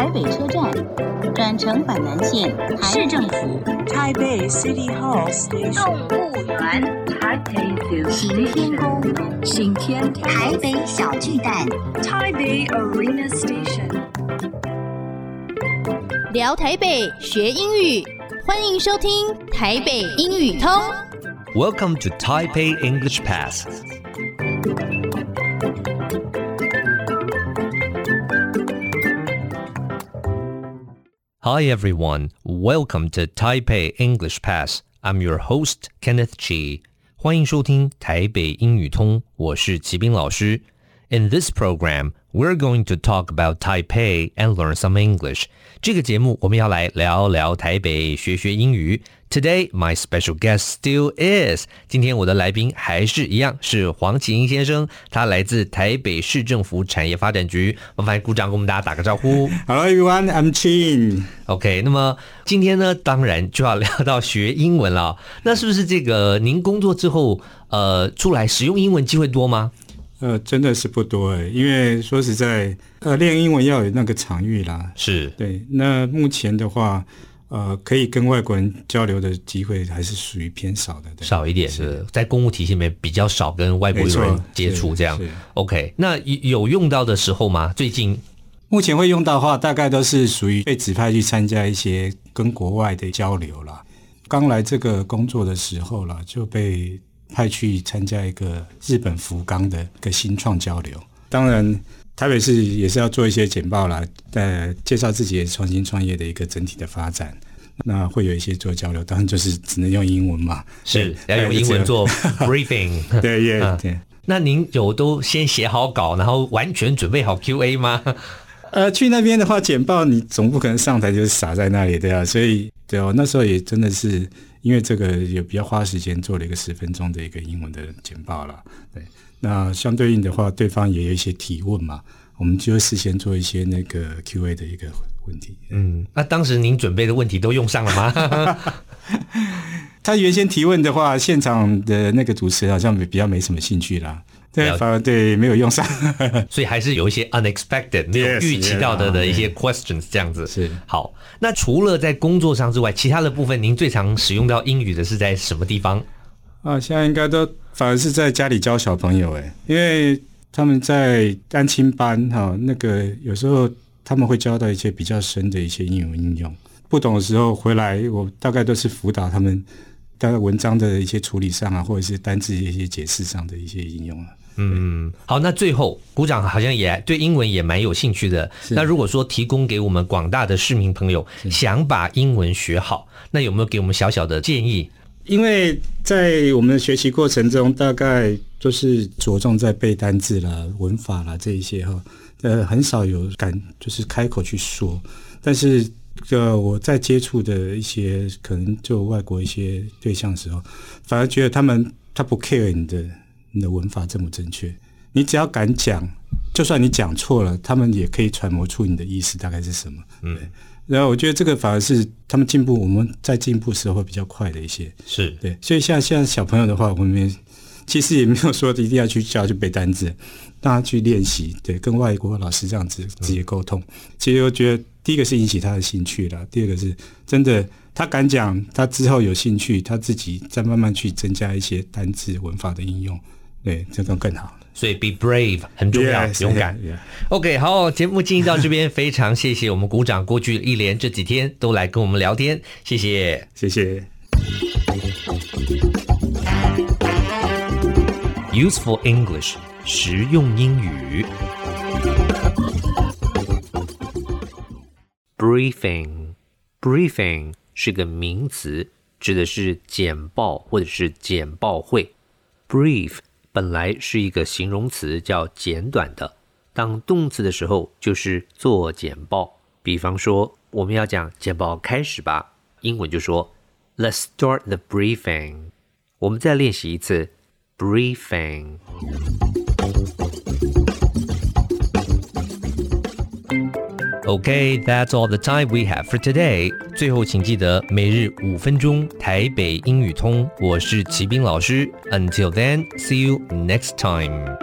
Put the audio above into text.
台北車站，轉乘板南線市政府、 台北 City Hall Station、 動物園、行天宮、行天台北小巨蛋、 台北 Arena Station。 聊台北學英語，歡迎收聽台北英語通。 Welcome to Taipei English Pass. Hi everyone, welcome to Taipei English Pass. I'm your host, Kenneth Chi. 歡迎收聽台北英語通，我是齊斌老師。In this program, we're going to talk about Taipei and learn some English. 這個節目我們要來聊聊台北，學學英語。Today, my special guest still is. 今天我的來賓還是一樣，是黃啟英先生，他來自台北市政府產業發展局。麻煩鼓掌，跟我們大家打個招呼。 Hello everyone, I'm Chin. OK, 那麼今天呢，當然就要聊到學英文了。那是不是這個您工作之後，出來使用英文機會多嗎？ 真的是不多耶，因為說實在，練英文要有那個場域啦。 是， 對。那目前的話，可以跟外國人交流的機會還是屬於偏少的，對， 少一點是在公務體系裡面比較少跟外國人接觸這樣。OK， 那有用到的時候嗎？最近目前會用到的話，大概都是屬於被指派去參加一些跟國外的交流啦。剛來這個工作的時候啦，就被派去參加一個日本福岡的一個新創交流。當然台北市也是要做一些簡報啦，介紹自己的創新創業的一個整體的發展。那會有一些做交流，當然就是只能用英文嘛， 是要用英文做 briefing。 對，對。 那您有都先寫好稿，然後完全準備好 QA 嗎？ 去那邊的話，簡報你總不可能上台就是傻在那裡，對啊。所以對哦，那時候也真的是因為這個也比較花時間做了一個10分鐘的一個英文的簡報啦。對，那相對應的話，對方也有一些提問嘛，我們就會事先做一些那個 QA 的一個問題。 那當時您準備的問題都用上了嗎？ 他原先提問的話，現場的那個主持人好像比較沒什麼興趣啦。對，反而對沒有用上。 所以還是有一些 unexpected 沒有預期到的一些 questions 這樣子。是。好，那除了在工作上之外，其他的部分您最常使用到英語的是在什麼地方？ 現在應該都反而是在家裡教小朋友，因為他們在單親班那個有時候他們會教到一些比較深的一些英文應用，不懂的時候回來，我大概都是輔導他們大概文章的一些處理上啊，或者是單字的一些解釋上的一些應用。 好，那最後股長好像也對英文也蠻有興趣的。那如果說提供給我們廣大的市民朋友想把英文學好，那有沒有給我們小小的建議？ 因為在我們的學習過程中，大概都是着重在背單字啦、文法啦這一些很少有敢就是開口去說。但是我在接觸的一些可能就外國一些對象的時候，反而覺得他不 care 你的文法正不正確，你只要敢講，就算你講錯了，他們也可以揣摩出你的意思大概是什麼。对，然後我覺得這個反而是他們進步，我們在進步的時候會比較快的一些。是，對，所以像小朋友的話，我們其實也沒有說一定要去教去背單字，讓他去練習，對，跟外國老師這樣子直接溝通。其實我覺得第一個是引起他的興趣啦，第二個是真的他敢講，他之後有興趣，他自己再慢慢去增加一些單字文法的應用，對，這種更好。 所以 be brave 很重要，勇敢。OK， 好，節目進行到這邊，非常謝謝我們股長過去一連這幾天都來跟我們聊天，謝謝， 謝謝。 Useful English， 實用英語。Briefing 是個名詞，指的是簡報或者是簡報會。Brief本來是一個形容詞，叫簡短的，當動詞的時候就是做簡報。比方說我們要講簡報開始吧，英文就說 Let's start the briefing。 我們再練習一次 Briefing。 Okay, that's all the time we have for today. 最後請記得每日5分鐘台北英語通，我是齊斌老師。Until then, see you next time.